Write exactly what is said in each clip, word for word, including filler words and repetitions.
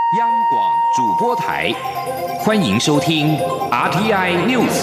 央广主播台，欢迎收听 R T I News。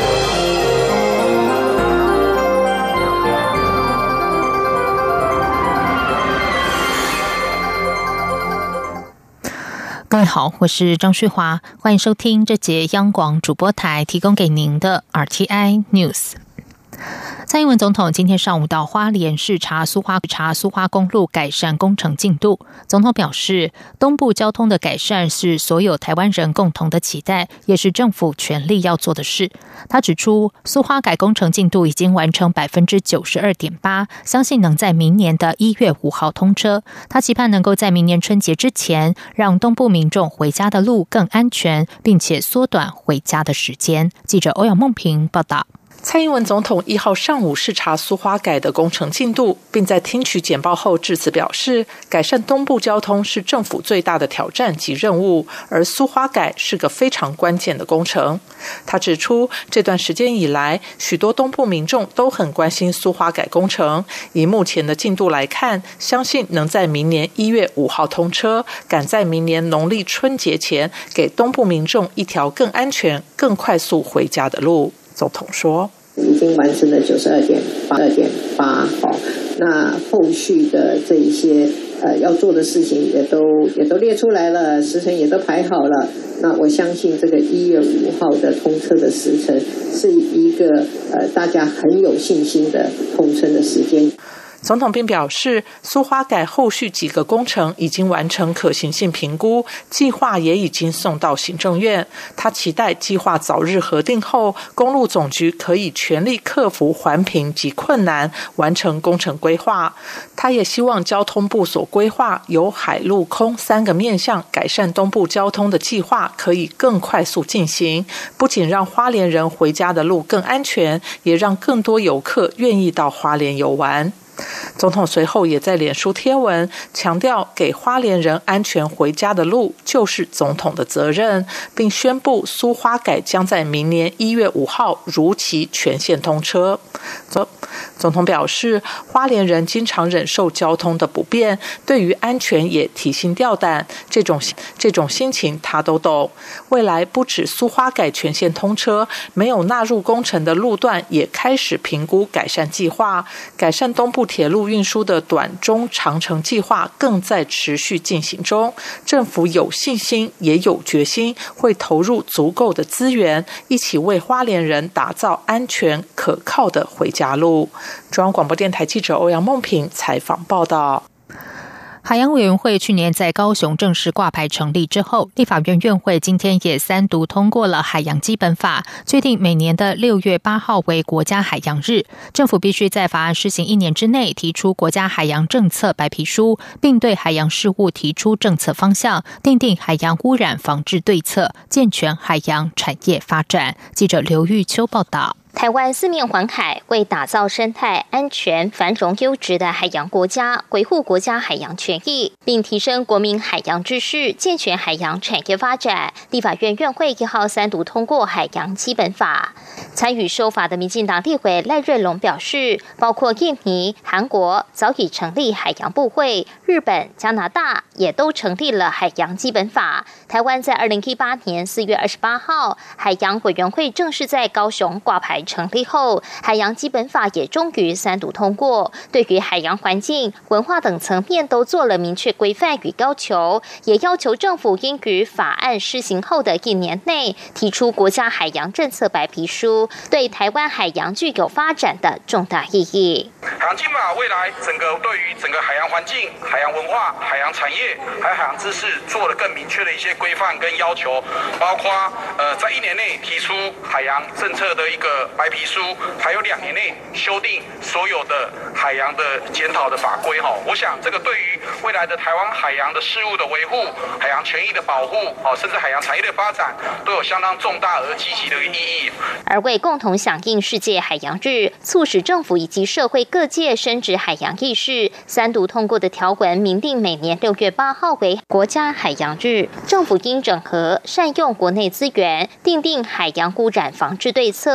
各位好，我是张旭华，欢迎收听这节央广主播台提供给您的 R T I News。蔡英文总统今天上午到花莲视察苏花查苏花公路改善工程进度。总统表示，东部交通的改善是所有台湾人共同的期待，也是政府全力要做的事。他指出，苏花改工程进度已经完成 百分之九十二点八， 相信能在明年的一月五号通车。他期盼能够在明年春节之前，让东部民众回家的路更安全，并且缩短回家的时间。记者欧阳梦平报道。 蔡英文总统一号上午视察苏花改的工程进度，并在听取简报后致辞表示，改善东部交通是政府最大的挑战及任务，而苏花改是个非常关键的工程。他指出，这段时间以来，许多东部民众都很关心苏花改工程，以目前的进度来看，相信能在明年一月五号通车，赶在明年农历春节前，给东部民众一条更安全、更快速回家的路。总统说， 已经完成了九十二点八二点八，好，那后续的这一些呃要做的事情也都也都列出来了，时程也都排好了。那我相信这个一月五号的通车的时程是一个呃大家很有信心的通车的时间。 总统并表示，苏花改后续几个工程已经完成可行性评估，计划也已经送到行政院。他期待计划早日核定后，公路总局可以全力克服环评及困难，完成工程规划。他也希望交通部所规划由海陆空三个面向改善东部交通的计划可以更快速进行，不仅让花莲人回家的路更安全，也让更多游客愿意到花莲游玩。总统随后也在脸书贴文强调，给花莲人安全回家的路就是总统的责任，并宣布苏花改将在明年一月五号如期全线通车。总统表示，花莲人经常忍受交通的不便，对于安全也提心吊胆，这种这种心情他都懂。未来不止苏花改全线通车，没有纳入工程的路段也开始评估改善计划，改善东部铁路运输的短中长程计划更在持续进行中。政府有信心也有决心，会投入足够的资源，一起为花莲人打造安全可靠的回家路。中央广播电台记者欧阳梦平采访报道。 海洋委员会去年在高雄正式挂牌成立之后，立法院院会今天也三读通过了海洋基本法，确定每年的六月八号为国家海洋日。政府必须在法案施行一年之内提出国家海洋政策白皮书，并对海洋事务提出政策方向，订定海洋污染防治对策，健全海洋产业发展。记者刘玉秋报道。 台湾四面环海，为打造生态安全、繁荣优质的海洋国家，维护国家海洋权益，并提升国民海洋知识，健全海洋产业发展。立法院院会一号三读通过海洋基本法。参与修法的民进党立委赖瑞隆表示，包括印尼、韩国早已成立海洋部会，日本、加拿大也都成立了海洋基本法。台湾在二零一八年四月二十八号，海洋委员会正式在高雄挂牌成立后，海洋基本法也终于三读通过，对于海洋环境、文化等层面都做了明确规范与要求，也要求政府应于法案施行后的一年内提出国家海洋政策白皮书，对台湾海洋具有发展的重大意义。 海洋基本法未来整个对于整个海洋环境、海洋文化、海洋产业还有海洋知识做了更明确的一些规范跟要求，包括呃在一年内提出海洋政策的一个白皮书，还有两年内修订所有的海洋的检讨的法规哈。我想这个对于未来的台湾海洋的事务的维护、海洋权益的保护，哦，甚至海洋产业的发展，都有相当重大而积极的意义。 而为共同响应世界海洋日，促使政府以及社会各界深植海洋意识，三读通过的条文明定每年六月八号为国家海洋日，政府应整合善用国内资源，订定海洋污染防治对策，由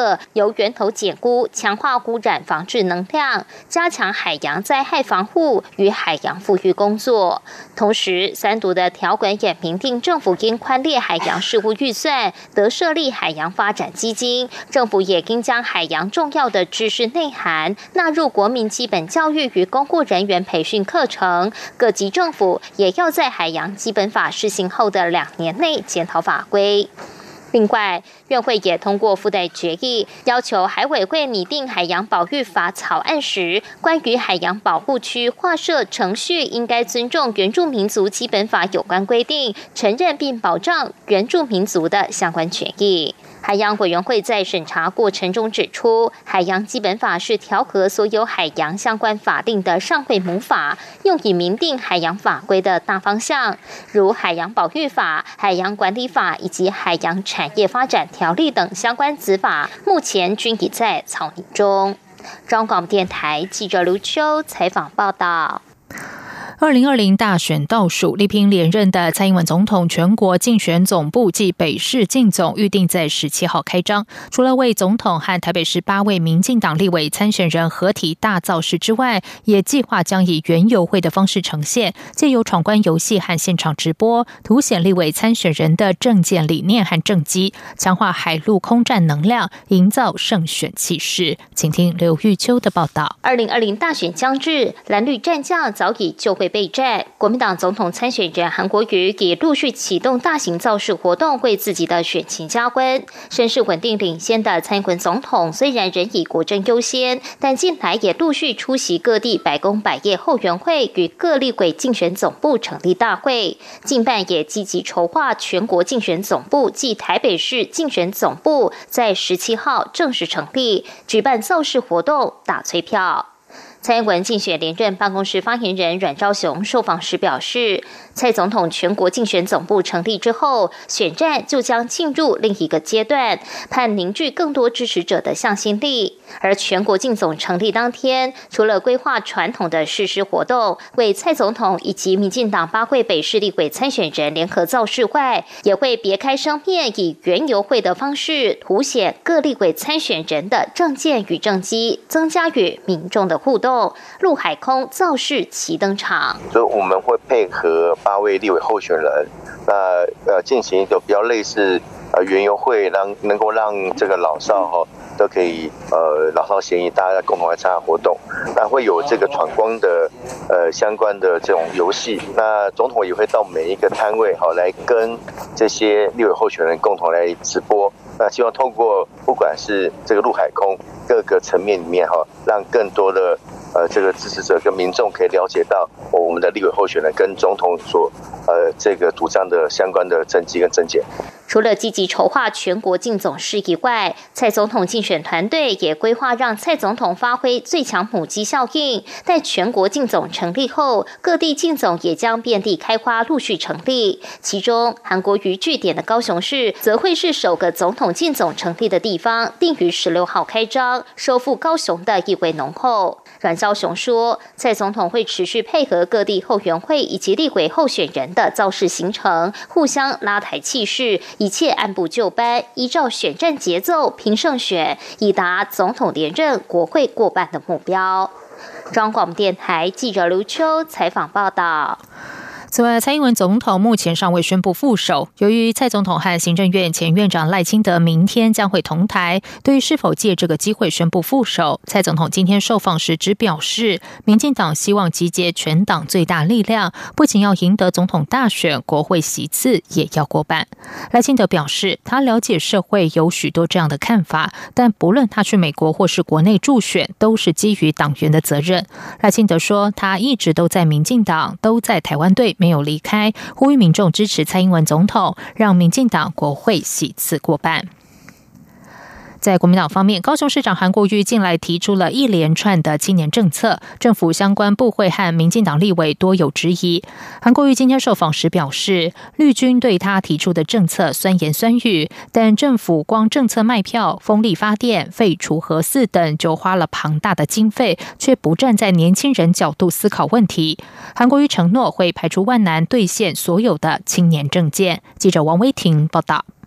由源头减污，强化污染防治能量，加强海洋灾害防护与海洋复育工作。同时，三读的条文也明定，政府应宽列海洋事务预算，得设立海洋发展基金。政府也应将海洋重要的知识内涵纳入国民基本教育与公务人员培训课程。各级政府也要在海洋基本法施行后的两年内检讨法规。另外，院会也通过附带决议，要求海委会拟定海洋保育法草案时，关于海洋保护区划设程序应该尊重原住民族基本法有关规定，承认并保障原住民族的相关权益。海洋委员会在审查过程中指出，海洋基本法是调和所有海洋相关法令的上会母法，用以明定海洋法规的大方向，如海洋保育法、海洋管理法以及海洋产业发展条例等相关子法，目前均已在草拟中。中广电台记者卢秋采访报道。 二零二零大选倒数，力拼连任的蔡英文总统全国竞选总部暨北市竞总预定在十七号开张。除了为总统和台北市八位民进党立委参选人合体大造势之外，也计划将以园游会的方式呈现，借由闯关游戏和现场直播，凸显立委参选人的政见理念和政绩，强化海陆空战能量，营造胜选气势。请听刘玉秋的报道。 二零二零大选将至，蓝绿战将早已就会备战。国民党总统参选人韩国瑜也陆续启动大型造势活动，为自己的选情加温。声势稳定领先的蔡英文总统虽然仍以国政优先，但近来也陆续出席各地百工百业后援会与各立委竞选总部成立大会。近办也积极筹划全国竞选总部暨台北市竞选总部在十七号正式成立，举办造势活动打催票。蔡英文竞选连任办公室发言人阮昭雄受访时表示，蔡总统全国竞选总部成立之后，选战就将进入另一个阶段，盼凝聚更多支持者的向心力。而全国竞总成立当天，除了规划传统的誓师活动，为蔡总统以及民进党八会北市立委参选人联合造势外，也会别开生面，以园游会的方式凸显各立委参选人的政见与政绩，增加与民众的互动。陆海空造势齐登场， 所以我们会配合八位立委候选人，那呃进行一个比较类似呃园游会，让能够让这个老少哈、哦、都可以呃老少咸宜，大家共同来参加活动。那会有这个闯关的呃相关的这种游戏，那总统也会到每一个摊位好、哦、来跟这些立委候选人共同来直播。那希望透过不管是这个陆海空各个层面里面哈、哦，让更多的呃这个支持者跟民众可以了解到、哦、我们的立委候选人跟总统所呃这个主张的相关的政绩跟政见。 除了积极筹划全国竞总事以外，蔡总统竞选团队也规划让蔡总统发挥最强母鸡效应。待全国竞总成立后，各地竞总也将遍地开花，陆续成立。其中，韩国瑜据点的高雄市则会是首个总统竞总成立的地方，定于十六号开张，收复高雄的意味浓厚。阮昭雄说，蔡总统会持续配合各地后援会以及立委候选人的造势行程，互相拉抬气势，一切按部就班，依照选战节奏拼胜选，以达总统连任、国会过半的目标。中广电台记者刘秋采访报道。 此外，蔡英文总统目前尚未宣布副手。由于蔡总统和行政院前院长赖清德明天将会同台，对于是否借这个机会宣布副手，蔡总统今天受访时只表示，民进党希望集结全党最大力量，不仅要赢得总统大选、国会席次，也要过半。赖清德表示，他了解社会有许多这样的看法，但不论他去美国或是国内助选，都是基于党员的责任。赖清德说，他一直都在民进党，都在台湾队，没有离开，呼吁民众支持蔡英文总统，让民进党国会席次过半。在国民党方面，高雄市长韩国瑜近来提出了一连串的青年政策，政府相关部会和民进党立委多有质疑。韩国瑜今天受访时表示，绿军对他提出的政策酸言酸语，但政府光政策卖票、风力发电、废除核四等就花了庞大的经费，却不站在年轻人角度思考问题。韩国瑜承诺会排除万难兑现所有的青年政见。记者王威婷报道。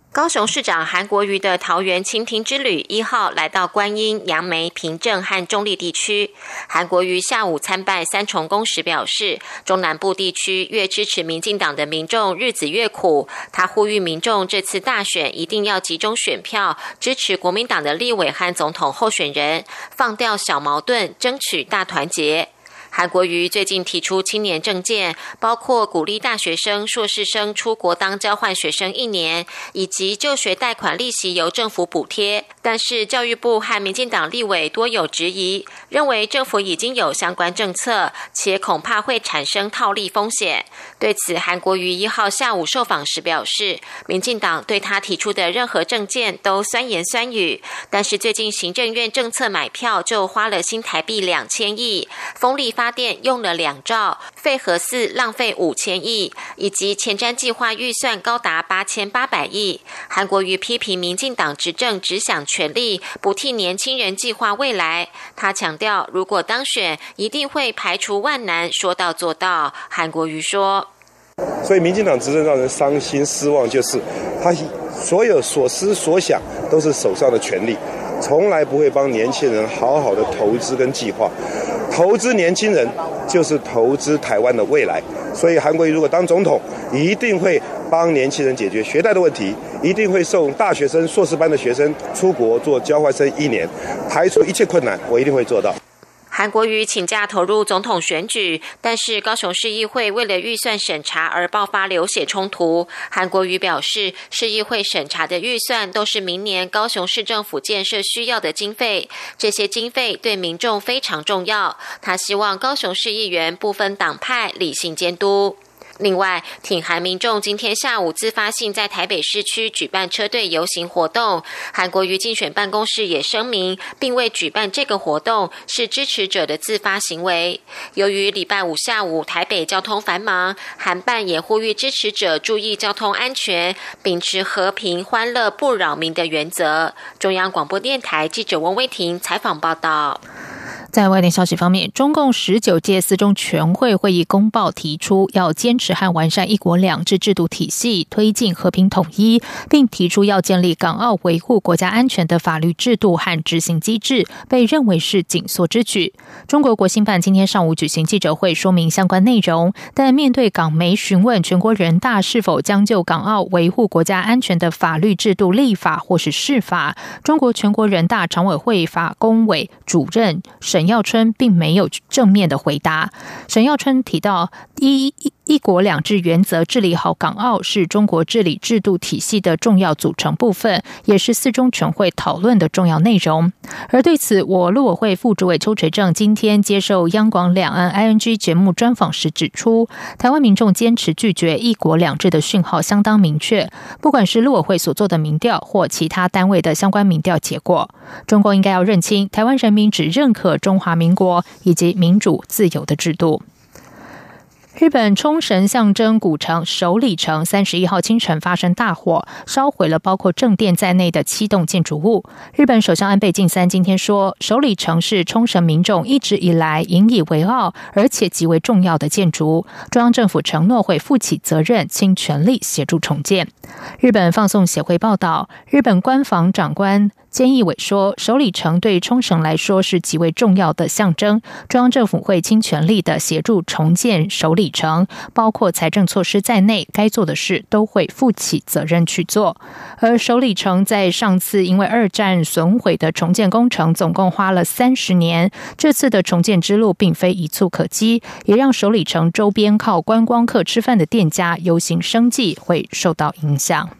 高雄市长韩国瑜的桃园清庭之旅一号来到观音、杨梅、平镇和中坜地区。韩国瑜下午参拜三重宫时表示，中南部地区越支持民进党的民众日子越苦。他呼吁民众这次大选一定要集中选票，支持国民党的立委和总统候选人，放掉小矛盾，争取大团结。韩国瑜最近提出青年政见，包括鼓励大学生、硕士生出国当交换学生一年，以及就学贷款利息由政府补贴。但是教育部和民进党立委多有质疑，认为政府已经有相关政策，且恐怕会产生套利风险。对此，韩国瑜一号下午受访时表示，民进党对他提出的任何政见都酸言酸语，但是最近行政院政策买票就花了新台币两千亿，风力发电用了两兆，废核四浪费五千亿，以及前瞻计划预算高达八千八百亿。韩国瑜批评民进党执政只想权力，不替年轻人计划未来。他强调，如果当选，一定会排除万难，说到做到。韩国瑜说， 所以民进党执政让人伤心失望，就是他所有所思所想都是手上的权力，从来不会帮年轻人好好的投资跟计划。投资年轻人就是投资台湾的未来，所以韩国瑜如果当总统，一定会帮年轻人解决学贷的问题，一定会送大学生、硕士班的学生出国做交换生一年，排除一切困难，我一定会做到。 韩国瑜请假投入总统选举，但是高雄市议会为了预算审查而爆发流血冲突。韩国瑜表示，市议会审查的预算都是明年高雄市政府建设需要的经费，这些经费对民众非常重要。他希望高雄市议员不分党派理性监督。另外，挺韩民众今天下午自发性在台北市区举办车队游行活动，韩国瑜竞选办公室也声明，并未举办这个活动是支持者的自发行为。由于礼拜五下午台北交通繁忙，韩办也呼吁支持者注意交通安全，秉持和平、欢乐、不扰民的原则。中央广播电台记者温威婷采访报道。 在外电消息方面，中共十九届四中全会会议公报提出，要坚持和完善一国两制制度体系，推进和平统一，并提出要建立港澳维护国家安全的法律制度和执行机制，被认为是紧缩之举。中国国新办今天上午举行记者会说明相关内容，但面对港媒询问全国人大是否将就港澳维护国家安全的法律制度立法或是释法，中国全国人大常委会法工委主任沈耀春并没有正面的回答。沈耀春提到，一一国两制原则治理好港澳是中国治理制度体系的重要组成部分，也是四中全会讨论的重要内容。而对此，我陆委会副主委邱垂正今天接受央广两岸 I N G 节目专访时指出，台湾民众坚持拒绝一国两制的讯号相当明确，不管是陆委会所做的民调或其他单位的相关民调结果，中共应该要认清台湾人民只认可中华民国以及民主自由的制度。日本冲绳象征古城首里城三十一号清晨发生大火，烧毁了包括正殿在内的七栋建筑物。日本首相安倍晋三今天说，首里城是冲绳民众一直以来引以为傲而且极为重要的建筑，中央政府承诺会负起责任，倾全力协助重建。日本放送协会报道，日本官房长官菅义伟说，首里城对冲绳来说是极为重要的象征，中央政府会倾全力的协助重建首里城，包括财政措施在内，该做的事都会负起责任去做。而首里城在上次因为二战损毁的重建工程总共花了三十年，这次的重建之路并非一蹴可及，也让首里城周边靠观光客吃饭的店家忧心生计会受到影响。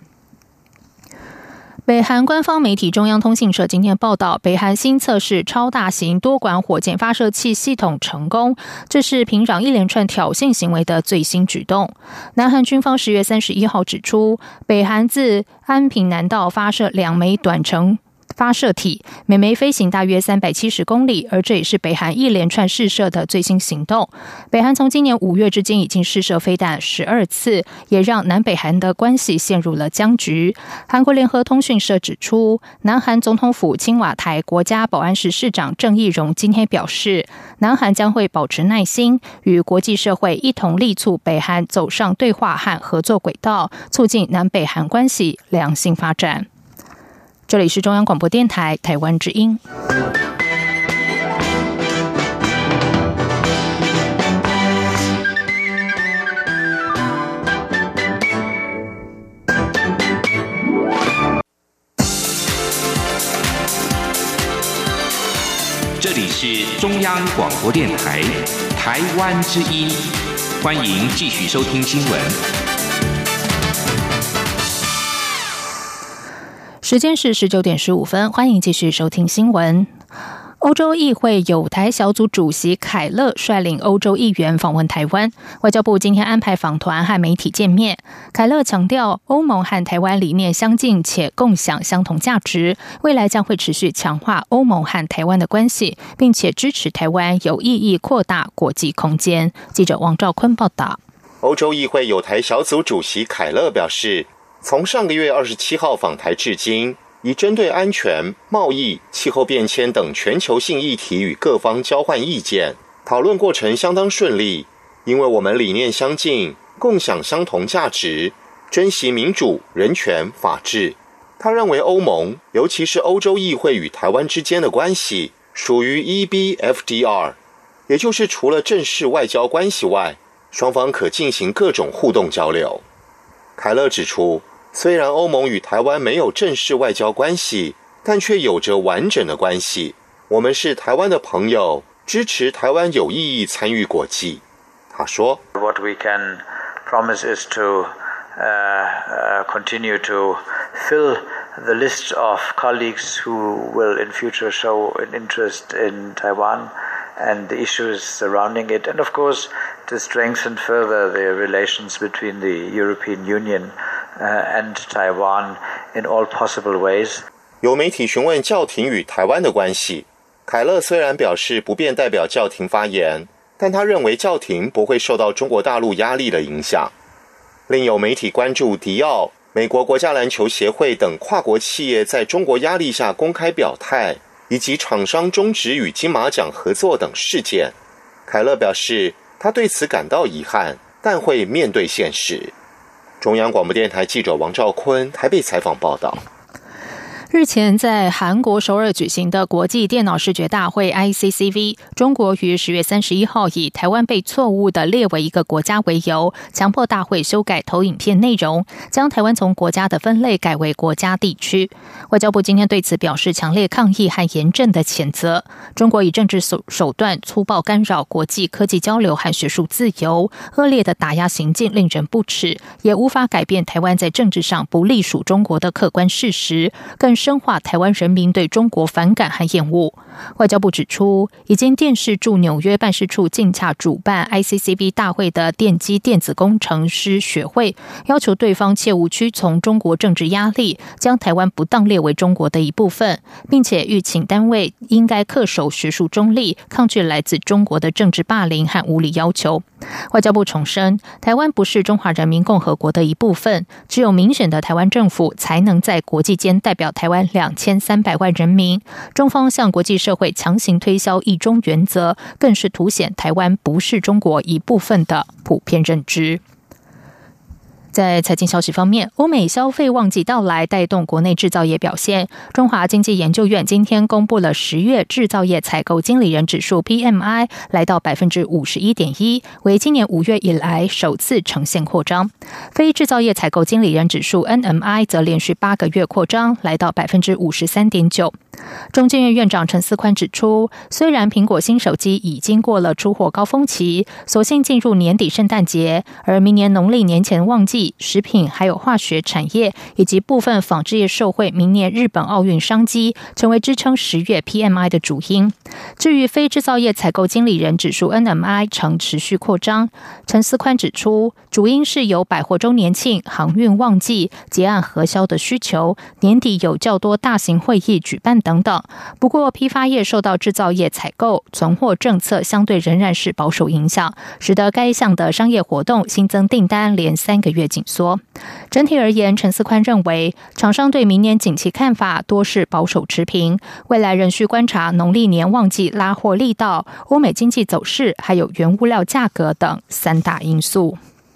北韩官方媒体中央通信社今天报道，北韩新测试超大型多管火箭发射器系统成功，这是平壤一连串挑衅行为的最新举动。南韩军方十月三十一号指出，北韩自安平南道发射两枚短程发射体，每枚飞行大约三百七十公里，而这也是北韩一连串试射的最新行动。北韩从今年五月至今已经试射飞弹十二次，也让南北韩的关系陷入了僵局。韩国联合通讯社指出，南韩总统府青瓦台国家保安室市长郑义溶今天表示，南韩将会保持耐心，与国际社会一同力促北韩走上对话和合作轨道，促进南北韩关系良性发展。这里是中央广播电台台湾之音。 这里是中央广播电台台湾之音，欢迎继续收听新闻。 时间是十九点十五分，欢迎继续收听新闻。欧洲议会友台小组主席凯勒率领欧洲议员访问台湾，外交部今天安排访团和媒体见面。凯勒强调，欧盟和台湾理念相近且共享相同价值，未来将会持续强化欧盟和台湾的关系，并且支持台湾有意义扩大国际空间。记者王兆坤报道。 欧洲议会友台小组主席凯勒表示，从上个月二十七号访台至今，已针对安全、贸易、气候变迁等全球性议题与各方交换意见，讨论过程相当顺利，因为我们理念相近，共享相同价值，珍惜民主、人权、法治。他认为欧盟，尤其是欧洲议会与台湾之间的关系，属于 E B F D R， 也就是除了正式外交关系外，双方可进行各种互动交流。凯勒指出，虽然欧盟与台湾没有正式外交关系，但却有着完整的关系。我们是台湾的朋友，支持台湾有意义参与国际。他说 What we can promise is to uh, uh, continue to fill the list of colleagues who will in future show an interest in Taiwan and the issues surrounding it, and of course to strengthen further the relations between the European Union uh, and Taiwan in all possible ways. 有媒体询问教廷与台湾的关系，凯勒虽然表示不便代表教廷发言，但他认为教廷不会受到中国大陆压力的影响。另有媒体关注迪奥、美国国家篮球协会等跨国企业在中国压力下公开表态，以及厂商终止与金马奖合作等事件。凯勒表示，他对此感到遗憾，但会面对现实。中央广播电台记者王兆坤台北采访报道。 日前在韩国首尔举行的国际电脑视觉大会 I C C V， 中国于十月三十一号以台湾被错误的列为一个国家为由，强迫大会修改投影片内容，将台湾从国家的分类改为国家地区。外交部今天对此表示强烈抗议和严正的谴责。中国以政治手手段粗暴干扰国际科技交流和学术自由，恶劣的打压行径令人不齿，也无法改变台湾在政治上不隶属中国的客观事实，更深化台湾人民对中国反感和厌恶。外交部指出，已经电视驻纽约办事处竞洽主办 I C C V 大会的电机电子工程师学会，要求对方切勿屈从中国政治压力，将台湾不当列为中国的一部分，并且吁请单位应该恪守学术中立，抗拒来自中国的政治霸凌和无理要求。外交部重申，台湾不是中华人民共和国的一部分，只有民选的台湾政府才能在国际间代表台湾两千三百万人民。中方向国际社会强行推销一中原则，更是凸显台湾不是中国一部分的普遍认知。在财经消息方面，欧美消费旺季到来，带动国内制造业表现。中华经济研究院今天公布了十月制造业采购经理人指数 P M I 来到 百分之五十一点一， 为今年五月以来首次呈现扩张。非制造业采购经理人指数 N M I 则连续八个月扩张，来到 百分之五十三点九。中经院院长陈思宽指出，虽然苹果新手机已经过了出货高峰期，所幸进入年底圣诞节，而明年农历年前旺季技、食品还有化学产业以及部分纺织业受惠明年日本奥运商机，成为支撑十月 P M I 的主因。至于非制造业采购经理人指数 N M I 呈持续扩张，陈思宽指出，主因是由百货周年庆、航运旺季、结案核销的需求，年底有较多大型会议举办等等。不过批发业受到制造业采购、存货政策相对仍然是保守影响，使得该项的商业活动新增订单连三个月紧缩。整体而言，陈思宽认为，厂商对明年景气看法多是保守持平，未来仍需观察农历年旺季拉货力道、欧美经济走势，还有原物料价格等三大因素。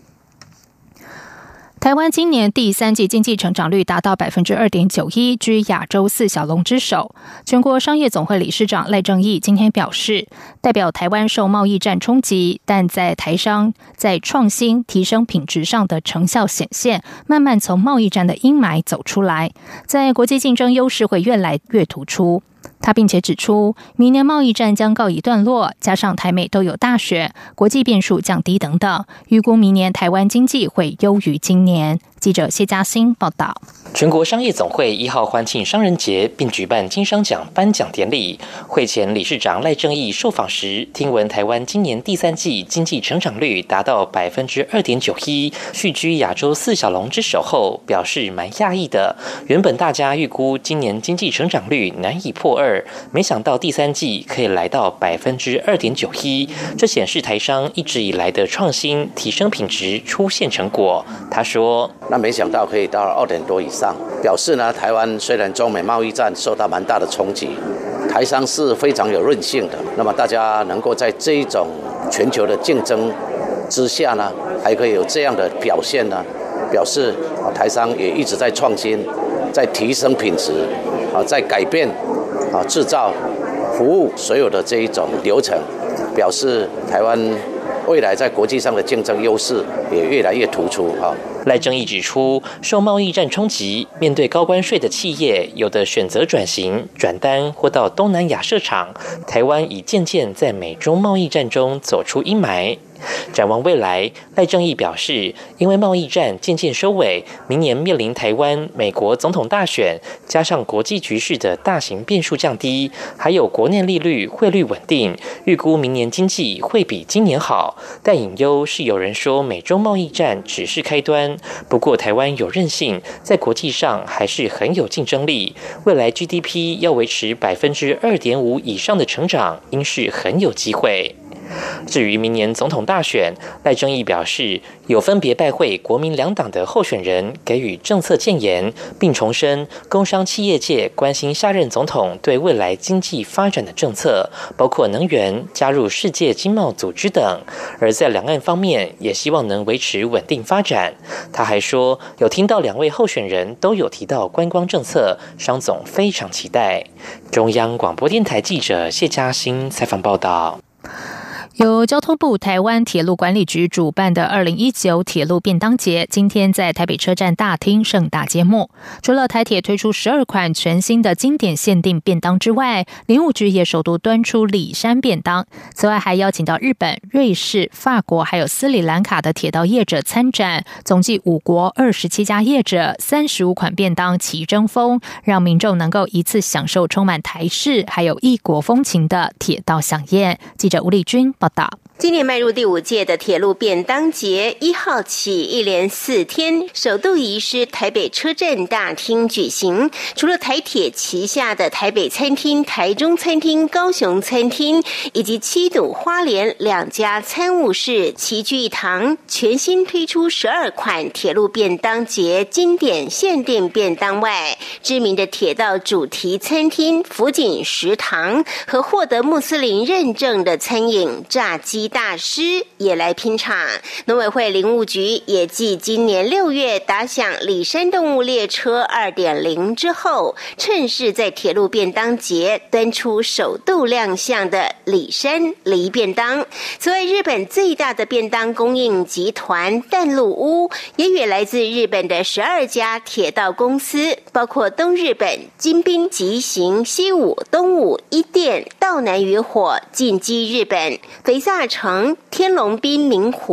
台湾今年第三季经济成长率达到 百分之二点九一， 居亚洲四小龙之首。全国商业总会理事长赖正鎰今天表示，代表台湾受贸易战冲击，但在台商在创新提升品质上的成效显现，慢慢从贸易战的阴霾走出来，在国际竞争优势会越来越突出。他并且指出，明年贸易战将告一段落，加上台美都有大选，国际变数降低等等，预估明年台湾经济会优于今年。记者谢嘉欣报道。 全国商业总会一号欢庆商人节，并举办金商奖颁奖典礼。会前理事长赖正鎰受访时，听闻台湾今年第三季经济成长率达到 百分之二点九一， 续居亚洲四小龙之首后，表示蛮讶异的。原本大家预估今年经济成长率难以破二，没想到第三季可以来到 百分之二点九一， 这显示台商一直以来的创新提升品质出现成果。他说， 那没想到可以到二点多以上，表示呢，台湾虽然中美贸易战受到蛮大的冲击，台商是非常有韧性的。那么大家能够在这一种全球的竞争之下呢，还可以有这样的表现呢，表示啊，台商也一直在创新，在提升品质，啊，在改变啊制造、服务所有的这一种流程，表示台湾未来在国际上的竞争优势也越来越突出哈。 赖正鎰指出，受贸易战冲击，面对高关税的企业，有的选择转型、转单或到东南亚设厂。台湾已渐渐在美中贸易战中走出阴霾。展望未来，赖正鎰表示，因为贸易战渐渐收尾，明年面临台湾、美国总统大选，加上国际局势的大型变数降低，还有国内利率、汇率稳定，预估明年经济会比今年好。但隐忧是有人说美中贸易战只是开端，不过台湾有韧性，在国际上还是很有竞争力。未来 G D P 要维持 百分之二点五 以上的成长，应是很有机会。至于明年总统大选，赖正鎰表示，有分别拜会国民两党的候选人，给予政策建言，并重申工商企业界关心下任总统对未来经济发展的政策，包括能源、加入世界经贸组织等。而在两岸方面，也希望能维持稳定发展。他还说，有听到两位候选人都有提到观光政策，商总非常期待。中央广播电台记者谢嘉欣采访报道。 由交通部台湾铁路管理局主办的二零一九铁路便当节，今天在台北车站大厅盛大揭幕。除了台铁推出十二款全新的经典限定便当之外，林务局也首度端出里山便当。此外，还邀请到日本、瑞士、法国还有斯里兰卡的铁道业者参展，总计五国二十七家业者，三十五款便当齐争锋，让民众能够一次享受充满台式还有异国风情的铁道飨宴。记者吴丽君报道。 今年迈入第五届的铁路便当节，一号起一连四天，首度移师台北车站大厅举行。除了台铁旗下的台北餐厅、台中餐厅、高雄餐厅，以及七堵花莲两家餐务室齐聚一堂，全新推出十二款铁路便当节经典限定便当外，知名的铁道主题餐厅福锦食堂和获得穆斯林认证的餐饮炸鸡大师也来拼场。农委会林务局也继今年六月打响里山动物列车 二点零 之后，趁势在铁路便当节端出首度亮相的里山梨便当。此外，日本最大的便当供应集团淡路屋也与来自日本的十二家铁道公司，包括东日本、金滨、吉行、西武、东武、一电、道南渔火、进击日本、肥萨城、天龙滨、明湖、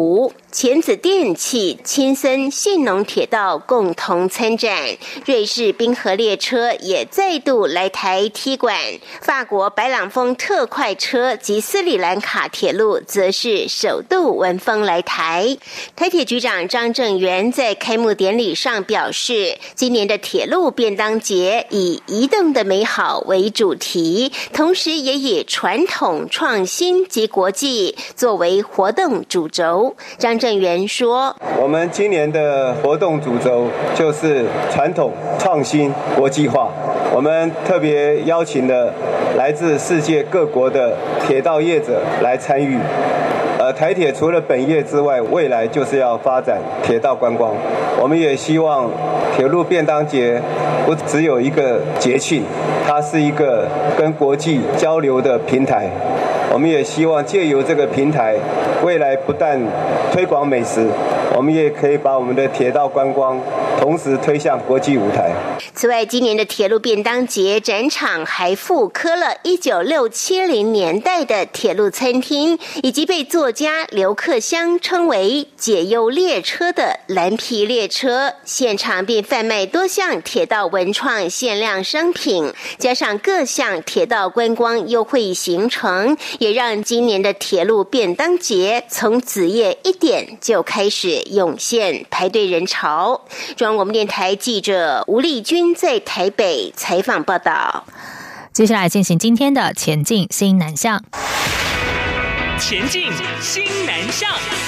钳子电器、青森信浓铁道共同参展，瑞士滨河列车也再度来台踢馆，法国白朗峰特快车及斯里兰卡铁路则是首度闻风来台。台铁局长张正元在开幕典礼上表示，今年的铁路便当节以移动的美好为主题，同时也以传统、创新及国际作为活动主轴。张正元说， 我们今年的活动主轴就是传统、创新、国际化。我们特别邀请了来自世界各国的铁道业者来参与。呃，台铁除了本业之外，未来就是要发展铁道观光。我们也希望铁路便当节不只有一个节庆，它是一个跟国际交流的平台。我们也希望借由这个平台，未来不但推广美食，我们也可以把我们的铁道观光同时推向国际舞台。 此外，今年的铁路便当节展场还复刻了一九六七零年代的铁路餐厅，以及被作家刘克襄称为解忧列车的蓝皮列车，现场并贩卖多项铁道文创限量商品，加上各项铁道观光优惠行程，也让今年的铁路便当节从子夜一点就开始涌现排队人潮。中央广播电台记者吴丽君在台北采访报道。 接下来进行今天的前进新南向。 前进新南向。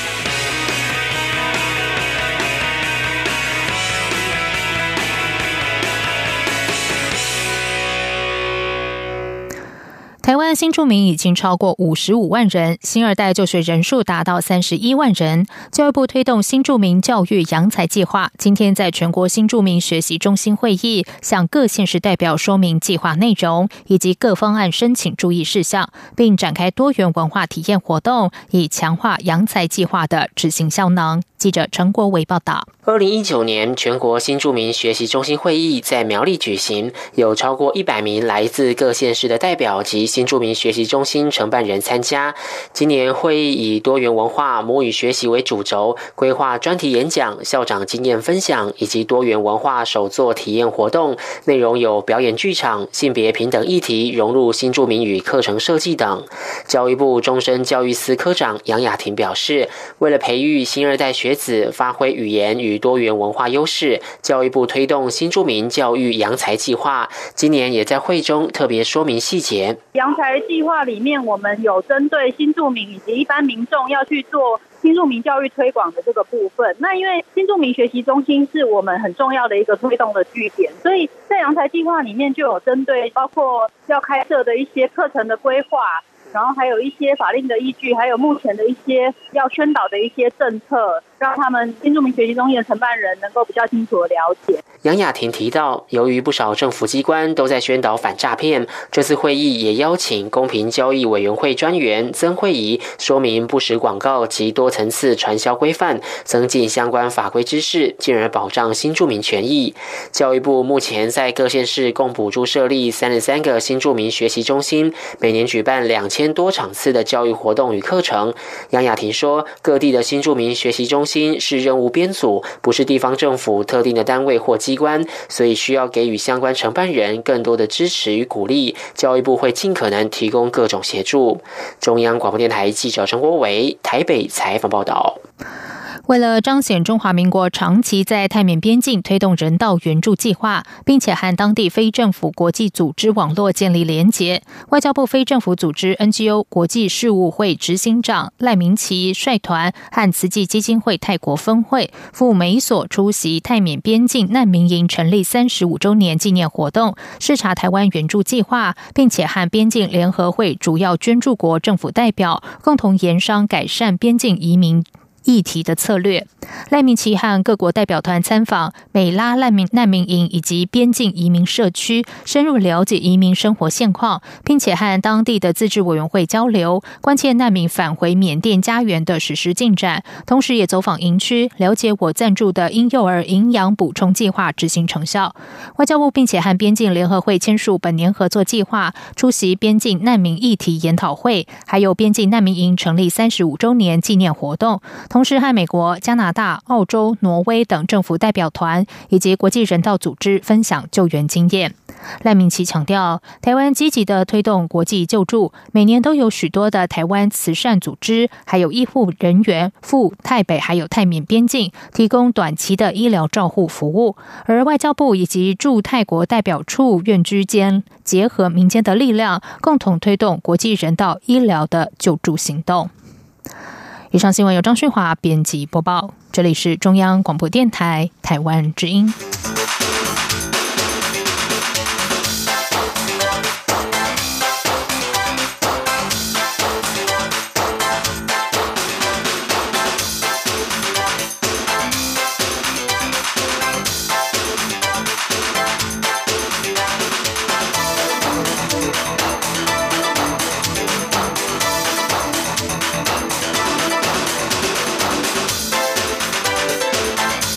台湾新住民已经超过五十五万人，新二代就学人数达到三十一万人。教育部推动新住民教育扬才计划，今天在全国新住民学习中心会议，向各县市代表说明计划内容以及各方案申请注意事项，并展开多元文化体验活动，以强化扬才计划的执行效能。记者陈国维报道。 二零一九年全国新住民学习中心会议在苗栗举行，有超过一百名来自各县市的代表及新住民学习中心承办人参加。今年会议以多元文化母语学习为主轴，规划专题演讲、校长经验分享以及多元文化手作体验活动，内容有表演剧场、性别平等议题融入新住民与课程设计等。教育部终身教育司科长杨雅婷表示，为了培育新二代学子发挥语言与多元文化优势，教育部推动新住民教育扬才计划，今年也在会中特别说明细节。 扬才计划里面，我们有针对新住民以及一般民众要去做新住民教育推广的这个部分。那因为新住民学习中心是我们很重要的一个推动的据点，所以在扬才计划里面就有针对包括要开设的一些课程的规划，然后还有一些法令的依据，还有目前的一些要宣导的一些政策，让他们新住民学习中心的承办人能够比较清楚的了解。 杨雅婷提到，由于不少政府机关都在宣导反诈骗，这次会议也邀请公平交易委员会专员曾慧仪说明不实广告及多层次传销规范，增进相关法规知识，进而保障新住民权益。教育部目前在各县市共补助设立三十三个新住民学习中心，每年举办两千多场次的教育活动与课程。杨雅婷说，各地的新住民学习中心是任务编组，不是地方政府特定的单位或机关，所以需要给予相关承办人更多的支持与鼓励。教育部会尽可能提供各种协助。中央广播电台记者陈国维台北采访报道。 为了彰显中华民国长期在泰缅边境推动人道援助计划，并且和当地非政府国际组织网络建立连结，外交部非政府组织 N G O 国际事务会执行长赖明奇率团和慈济基金会泰国分会赴美所出席泰缅边境难民营成立三十五周年纪念活动，视察台湾援助计划，并且和边境联合会主要捐助国政府代表共同研商改善边境移民议题的策略。赖明奇和各国代表团参访美拉难民难民营以及边境移民社区，深入了解移民生活现况，并且和当地的自治委员会交流，关切难民返回缅甸家园的实施进展，同时也走访营区，了解我赞助的婴幼儿营养补充计划执行成效。外交部并且和边境联合会签署本年合作计划，出席边境难民议题研讨会，还有边境难民营成立三十五周年纪念活动。 同时和美国、加拿大、澳洲、挪威等政府代表团以及国际人道组织分享救援经验。赖明琪强调，台湾积极的推动国际救助，每年都有许多的台湾慈善组织还有医护人员赴泰北还有泰缅边境提供短期的医疗照护服务，而外交部以及驻泰国代表处院之间结合民间的力量，共同推动国际人道医疗的救助行动。以上新闻由张旭华编辑播报，这里是中央广播电台台湾之音。